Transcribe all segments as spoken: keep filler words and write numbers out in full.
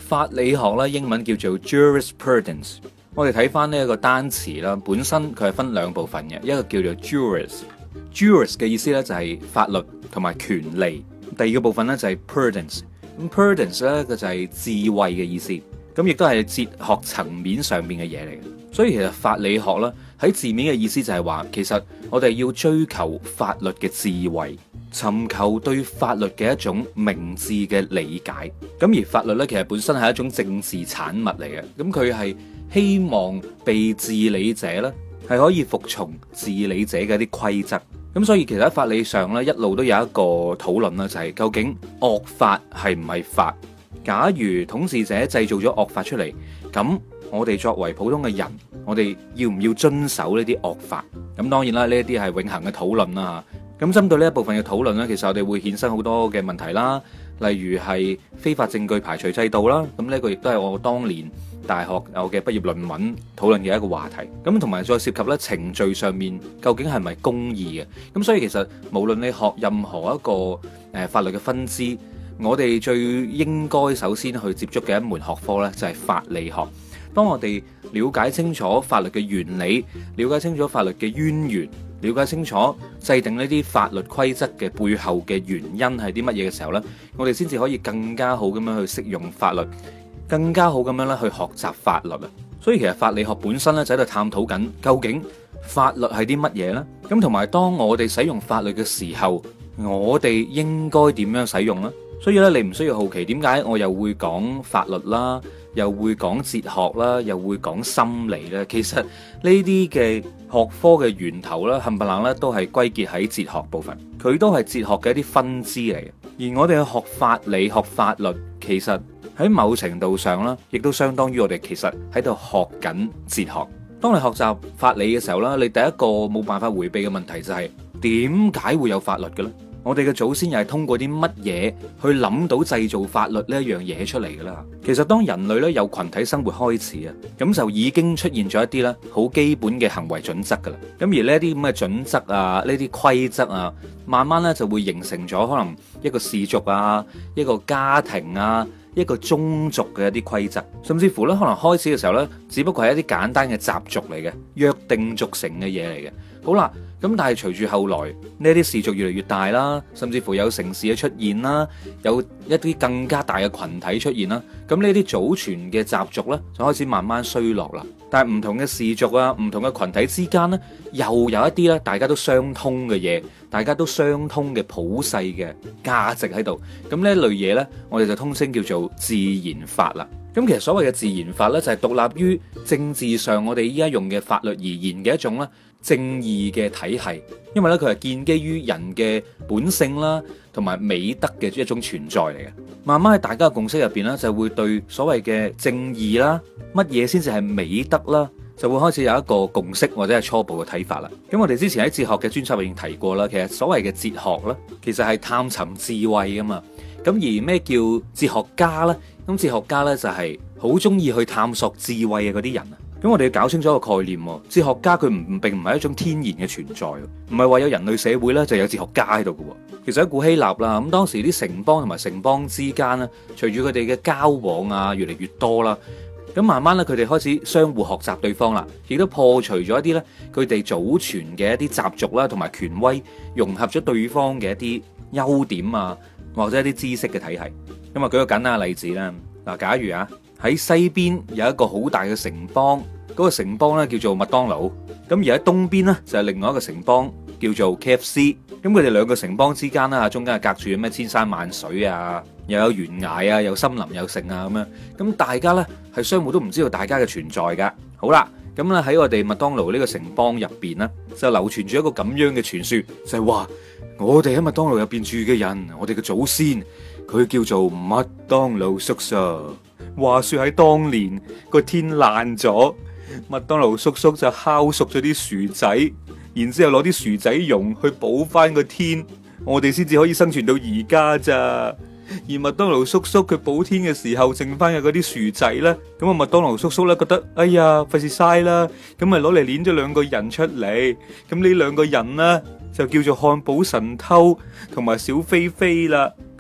法理學咧，英文叫做 jurisprudence。我哋睇翻呢一個單詞啦，本身佢係分兩部分嘅，一個叫做 juris，juris 嘅意思咧就係法律同埋權利。第二個部分咧就係 prudence，咁 prudence 咧佢就係智慧嘅意思，咁亦都係哲學層面上邊嘅嘢嚟嘅。所以其實法理學咧喺字面嘅意思就係話，其實我哋要追求法律嘅智慧，尋求對法律嘅一種明智嘅理解。咁而法律咧其實本身係一種政治產物嚟嘅，咁佢係希望被治理者咧係可以服從治理者嘅一啲規則。咁所以其實喺法理上咧一路都有一個討論啦，就係究竟惡法係唔係法？假如統治者製造咗惡法出嚟，咁我哋作為普通嘅人，我哋要唔要遵守呢啲惡法？咁當然啦，呢一啲係永恆嘅討論啦。咁針對呢一部分嘅討論呢，其實我哋會衍生好多嘅問題啦，例如係非法證據排除制度啦。咁呢個亦都係我當年大學我嘅畢業論文討論嘅一個話題。咁同埋再涉及咧程序上面究竟係咪公義嘅？咁所以其實無論你學任何一個誒法律嘅分支，我哋最應該首先去接觸嘅一門學科呢，就係法理學。當我哋了解清楚法律嘅原理，了解清楚法律嘅淵源，了解清楚制定呢啲法律規則嘅背後嘅原因係啲乜嘢嘅時候呢，我哋先至可以更加好咁樣去適用法律，更加好咁樣咧去學習法律啊！所以其實法理學本身咧就喺度探討緊究竟法律係啲乜嘢呢？咁同埋當我哋使用法律嘅時候，我哋應該點樣使用呢？所以咧，你唔需要好奇點解我又會講法律啦，又會講哲學啦，又會講心理咧。其實呢啲嘅學科嘅源頭咧，冚唪唥咧都係歸結喺哲學部分，佢都係哲學嘅一啲分支嚟嘅。而我哋去學法理、學法律，其實喺某程度上咧，亦都相當於我哋其實喺度學緊哲學。當你學習法理嘅時候咧，你第一個冇辦法迴避嘅問題就係點解會有法律嘅咧？我哋嘅祖先又係通過啲乜嘢去諗到製造法律呢一樣嘢出嚟㗎啦？其實當人類咧有群體生活開始啊，咁就已經出現咗一啲咧好基本嘅行為準則㗎啦。咁而呢啲咁嘅準則啊，呢啲規則啊，慢慢咧就會形成咗可能一個氏族啊，一個家庭啊，一個宗族嘅一啲規則，甚至乎咧可能開始嘅時候咧，只不過係一啲簡單嘅習俗嚟嘅，約定俗成嘅嘢嚟嘅。好啦。咁但係隨住後來呢啲氏族越嚟越大啦，甚至乎有城市嘅出現啦，有一啲更加大嘅群體出現啦，咁呢啲祖傳嘅習俗呢，就開始慢慢衰落啦。但係唔同嘅氏族啊，唔同嘅群體之間呢，又有一啲咧大家都相通嘅嘢，大家都相通嘅普世嘅價值喺度。咁呢一類嘢呢，我哋就通稱叫做自然法啦。咁其實所謂嘅自然法呢，就係獨立於政治上我哋依家用嘅法律而言嘅一種咧正義嘅體系，因為咧佢係建基於人嘅本性啦，同埋美德嘅一種存在嚟嘅。慢慢喺大家嘅共識入邊咧，就會對所謂嘅正義啦，乜嘢先至係美德啦，就會開始有一個共識或者係初步嘅睇法啦。咁我哋之前喺哲學嘅專輯入邊提過啦，其實所謂嘅哲學咧，其實係探尋智慧噶嘛。咁而咩叫哲學家呢？咁哲學家呢，就係好中意去探索智慧嘅嗰啲人啊。咁我哋要搞清楚一個概念，哲學家佢唔並唔係一種天然嘅存在，唔係話有人類社會呢就有哲學家喺度嘅。其實喺古希臘啦，咁當時啲城邦同埋城邦之間呢，隨住佢哋嘅交往啊越嚟越多啦，咁慢慢咧佢哋開始相互學習對方啦，亦都破除咗一啲咧佢哋祖傳嘅一啲習俗啦，同埋權威，融合咗對方嘅一啲優點啊，或者一啲知識嘅體系。咁啊，舉個簡單嘅例子啦。嗱，假如啊喺西邊有一個好大嘅城邦，嗰個城邦咧叫做麥當勞，咁而喺東邊咧就係另外一個城邦叫做 K F C。咁佢哋兩個城邦之間啦，中間係隔住咩千山萬水啊，又有懸崖啊，有森林有城啊咁樣。咁大家咧係相互都唔知道大家嘅存在噶。好啦，咁咧喺我哋麥當勞呢個城邦入邊咧，就流傳住一個咁樣嘅傳說，就係話我哋喺麥當勞入邊住嘅人，我哋嘅祖先，佢叫做麥當勞叔叔。話說喺當年個天爛咗，麥當勞叔叔就烤熟咗啲薯仔，然之後攞啲薯仔蓉去補翻個天，我哋先至可以生存到而家咋。而麥當勞叔叔佢補天嘅時候剩翻嘅嗰啲薯仔呢，咁啊麥當勞叔叔呢覺得哎呀費事嘥啦，咁咪攞嚟捏咗兩個人出嚟，咁呢兩個人呢，就叫做漢堡神偷同埋小飛飛啦。佢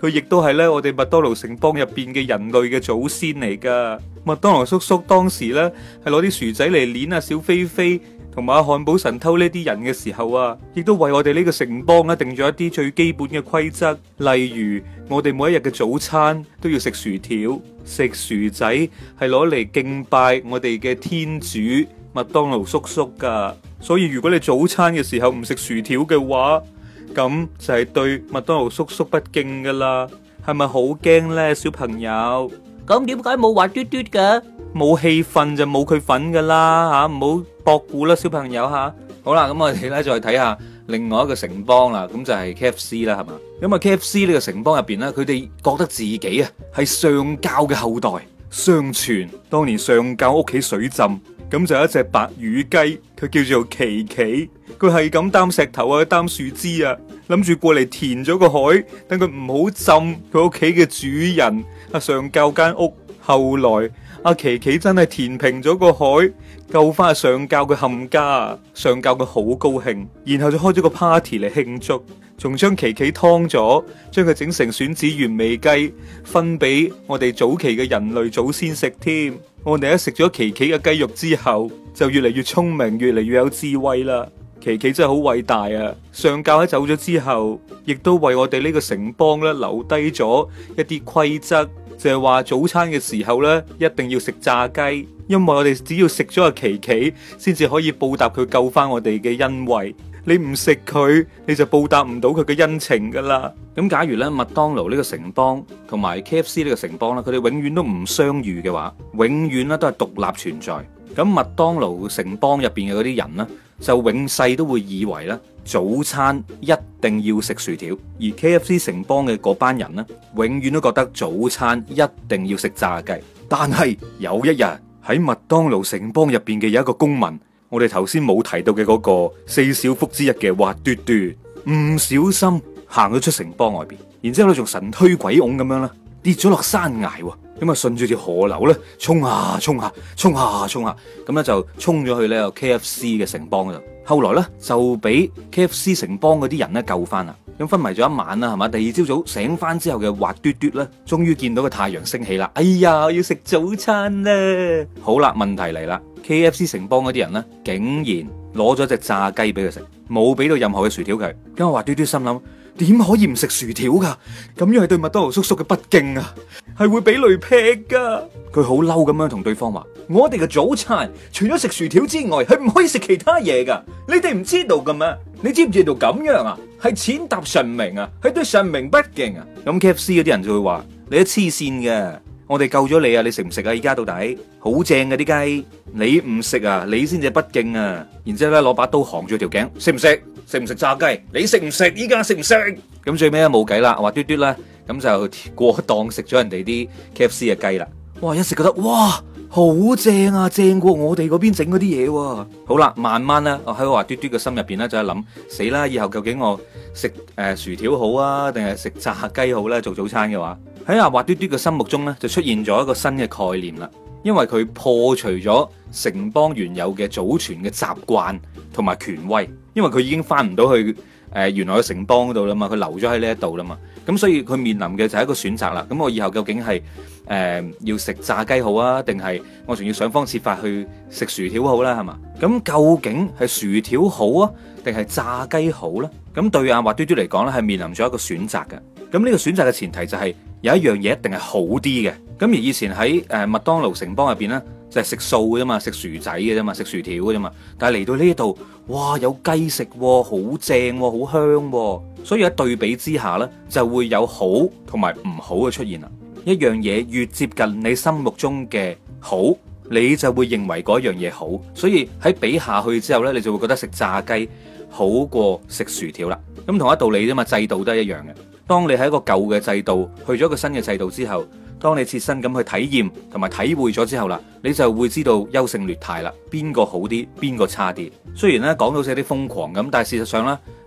佢亦都係咧我哋麥當勞城邦入邊嘅人類嘅祖先嚟噶。麥當勞叔叔當時咧係攞啲薯仔嚟碾啊小飛飛同埋阿漢堡神偷呢啲人嘅時候啊，亦都為我哋呢個城邦咧定咗一啲最基本嘅規則，例如我哋每一日嘅早餐都要食薯條，食薯仔係攞嚟敬拜我哋嘅天主麥當勞叔叔噶。所以如果你早餐嘅時候唔食薯條嘅話，咁就係對麥當勞叔叔不敬噶啦。係咪好驚呢，小朋友？ 咁點解冇滑嘟嘟嘅？ 冇氣氛就冇佢份噶啦吓，唔好博估啦，小朋友吓。好啦，咁我哋咧再睇下另外一個城邦啦，咁就係 K F C 啦，係嘛？咁啊 K F C 呢個城邦入邊咧，佢哋覺得自己啊係上教嘅後代，相傳當年上教屋企水浸，咁就有一隻白羽雞，佢叫做琪琪，佢係咁擔石頭啊，擔樹枝啊，諗住過嚟填咗個海，等佢唔好浸佢屋企嘅主人啊上教間屋。後來阿琪琪真係填平咗個海，救翻阿上教嘅冚家，上教佢好高興，然後就開咗個 party 嚟慶祝，仲將琪琪劏咗，將佢整成選子原味雞，分俾我哋早期嘅人類祖先食添。我哋一食咗琪琪嘅雞肉之後，就越嚟越聰明，越嚟越有智慧啦。琪琪真係好偉大啊！上教喺走咗之後，亦都為我哋呢個城邦咧留低咗一啲規則。就係話早餐嘅時候咧，一定要食炸雞，因為我哋只要食咗阿琪琪，先至可以報答佢救翻我哋嘅恩惠。你唔食佢，你就報答唔到佢嘅恩情噶啦。咁假如咧麥當勞呢個城邦同埋 K F C 呢個城邦咧，佢哋永遠都唔相遇嘅話，永遠咧都係獨立存在。咁麥當勞城邦入邊嘅嗰啲人呢，就永世都會以為咧早餐一定要食薯條，而 K F C 城邦嘅嗰班人呢，永遠都覺得早餐一定要食炸雞。但係有一日喺麥當勞城邦入邊嘅有一個公民，我哋頭先冇提到嘅嗰個四小福之一嘅滑嘟嘟，唔小心行咗出城邦外邊，然之後咧仲神推鬼拱咁樣啦，跌咗落山崖喎。咁啊，順住條河流咧，衝下衝下，衝下衝下，咁咧就衝咗去呢個 K F C 嘅城邦嗰度。後來咧就俾 K F C 城邦嗰啲人咧救翻啦。咁昏迷咗一晚啦，係嘛？第二朝早醒翻之後嘅滑嘟嘟咧，終於見到個太陽升起啦。哎呀，要食早餐啦！好啦，問題嚟啦 ，K F C 城邦嗰啲人咧，竟然攞咗隻炸雞俾佢食，冇俾到任何嘅薯條佢。咁滑嘟嘟心諗，點可以唔食薯條噶？咁樣係對麥當勞叔叔嘅不敬啊！係會俾雷劈噶。佢好嬲咁樣同對方話：我哋嘅早餐除咗食薯條之外，係唔可以食其他嘢噶。你哋唔知道噶咩？你知唔知道咁樣啊？係踐踏神明啊，係對神明不敬啊。咁 K F C 嗰啲人就會話：你都黐線嘅，我哋救咗你啊，你食唔食啊？而家到底好正嘅啲雞，你唔食啊，你先至不敬啊。然之後咧攞把刀行住條頸，食唔食？食唔食炸雞？你食唔食？依家食唔食？咁最尾咧冇計啦，滑嘟嘟啦，咁就過檔食咗人哋啲 K F C 嘅雞啦。哇！一食覺得哇，好正啊，正過我哋嗰邊整嗰啲嘢喎。好啦，慢慢咧，我喺滑嘟嘟嘅心入邊咧就係諗，死啦！以後究竟我食誒、呃、薯條好啊，定係食炸雞好咧？做早餐嘅話，喺阿滑嘟嘟嘅心目中咧就出現咗一個新嘅概念啦。因為佢破除咗城邦原有嘅祖傳嘅習慣同埋權威，因為佢已經翻唔到去誒、呃、原來嘅城邦嗰度啦嘛，佢留咗喺呢一度啦嘛，咁所以佢面臨嘅就係一個選擇啦。咁我以後究竟係誒、呃、要食炸雞好啊，定係我仲要想方設法去食薯條好啦，係嘛？咁究竟係薯條好啊，定係炸雞好呢？咁對阿滑嘟嘟嚟講咧，係面臨咗一個選擇嘅。咁呢個選擇嘅前提就係有一樣嘢一定係好啲嘅。咁而以前喺誒麥當勞城邦入邊咧，就係食素嘅啫嘛，食薯仔嘅啫嘛，食薯條嘅啫嘛。但係嚟到呢度，哇，有雞食，好正，好香，所以喺對比之下呢，就會有好同埋唔好嘅出現啦。一樣嘢越接近你心目中嘅好，你就會認為嗰樣嘢好，所以喺比下去之後呢，你就會覺得食炸雞好過食薯條啦。咁同一道理啫嘛，制度都係一樣嘅。當你喺一個舊嘅制度去咗一個新嘅制度之後，當你切身咁去體驗同埋體會咗之後啦，你就會知道優勝劣汰啦，邊個好啲，邊個差啲。雖然咧講到似有啲瘋狂咁，但係事實上咧，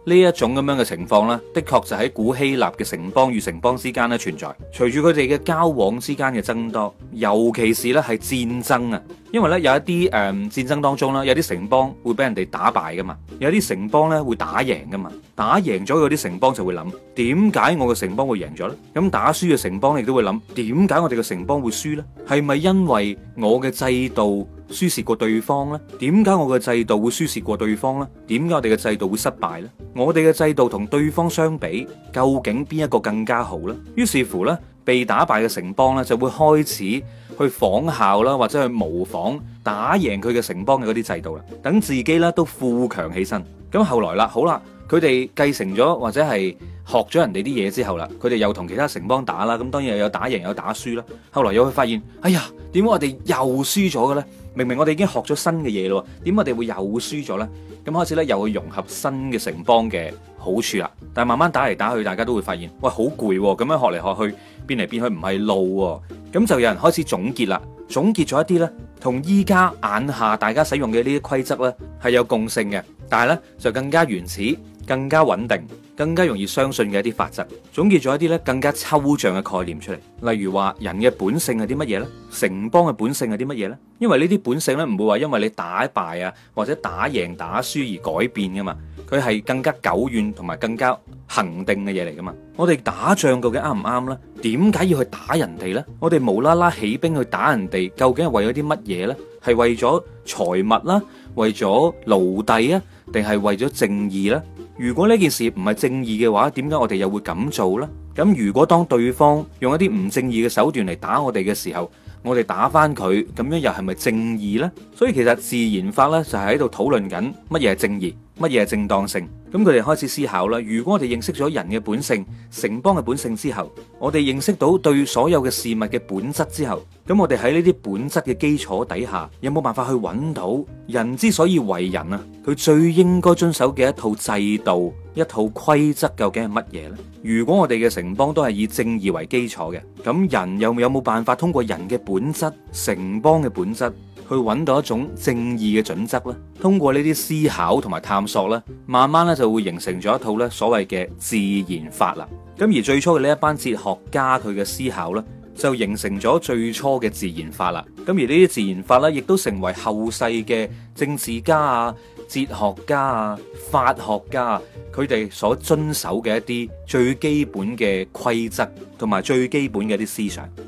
呢一種咁樣嘅情況呢，的確就喺古希臘嘅城邦與城邦之間咧存在。隨住佢哋嘅交往之間嘅增多，尤其是咧係戰爭啊，因為咧有一啲誒、呃、戰爭當中啦，有啲城邦會俾人哋打敗噶嘛，有啲城邦咧會打贏噶嘛，打贏咗嗰啲城邦就會諗，點解我嘅城邦會贏咗呢？咁打輸嘅城邦亦都會諗，點解我哋嘅城邦會輸呢？係咪因為我嘅制度輸蝕過對方呢？點解我嘅制度會輸蝕過對方呢？點解我哋嘅制度會失敗呢？我哋嘅制度同對方相比，究竟邊一個更加好呢？於是乎呢，被打敗嘅城邦呢，就會開始去仿效啦，或者去模仿打贏佢嘅城邦嘅嗰啲制度啦，等自己咧都富強起身。咁後來啦，好啦，佢哋繼承咗或者係學咗人哋啲嘢之後啦，佢哋又同其他城邦打啦，咁當然又有打贏有打輸啦。後來又會發現，哎呀，點解我哋又輸咗嘅咧？明明我哋已經學咗新嘅嘢咯，點解我哋會又輸咗咧？咁開始咧又去融合新嘅城邦嘅好處啦。但係慢慢打嚟打去，大家都會發現，喂，好攰喎，咁樣學嚟學去，變嚟變去唔係路喎。咁就有人開始總結啦，總結咗一啲咧，同依家眼下大家使用嘅呢啲規則咧係有共性嘅，但係咧就更加原始、更加穩定、更加容易相信嘅一啲法則，總結咗一啲咧更加抽象嘅概念出嚟。例如話人嘅本性係啲乜嘢呢？城邦嘅本性係啲乜嘢呢？因為呢啲本性咧唔會話因為你打敗啊或者打贏打輸而改變噶嘛，佢係更加久遠同埋更加恒定嘅嘢嚟噶嘛。我哋打仗究竟啱唔啱呢？點解要去打人哋呢？我哋無啦啦起兵去打人哋，究竟係為咗啲乜嘢呢？係為咗財物啦，為咗奴隸啊，定係為咗正義呢？如果呢件事唔係正義嘅話，點解我哋又會咁做呢？咁如果當對方用一啲唔正義嘅手段嚟打我哋嘅時候，我哋打翻佢，咁樣又係咪正義呢？所以其實自然法呢，就係喺度討論緊乜嘢係正義，乜嘢係正當性。咁佢哋開始思考啦。如果我哋認識咗人嘅本性、城邦嘅本性之後，我哋認識到對所有嘅事物嘅本質之後，咁我哋喺呢啲本質嘅基礎底下，有冇辦法去揾到人之所以為人啊？佢最應該遵守嘅一套制度、一套規則究竟係乜嘢呢？如果我哋嘅城邦都係以正義為基礎嘅，咁人又有冇辦法通過人嘅本質、城邦嘅本質，去揾到一種正義嘅準則呢？通過呢啲思考同埋探索呢，慢慢咧就會形成咗一套咧所謂嘅自然法啦。咁而最初嘅呢一班哲學家佢嘅思考呢，就形成咗最初嘅自然法啦。咁而呢啲自然法呢，亦都成為後世嘅政治家啊、哲學家啊、法學家啊，佢哋所遵守嘅一啲最基本嘅規則同埋最基本嘅一啲思想。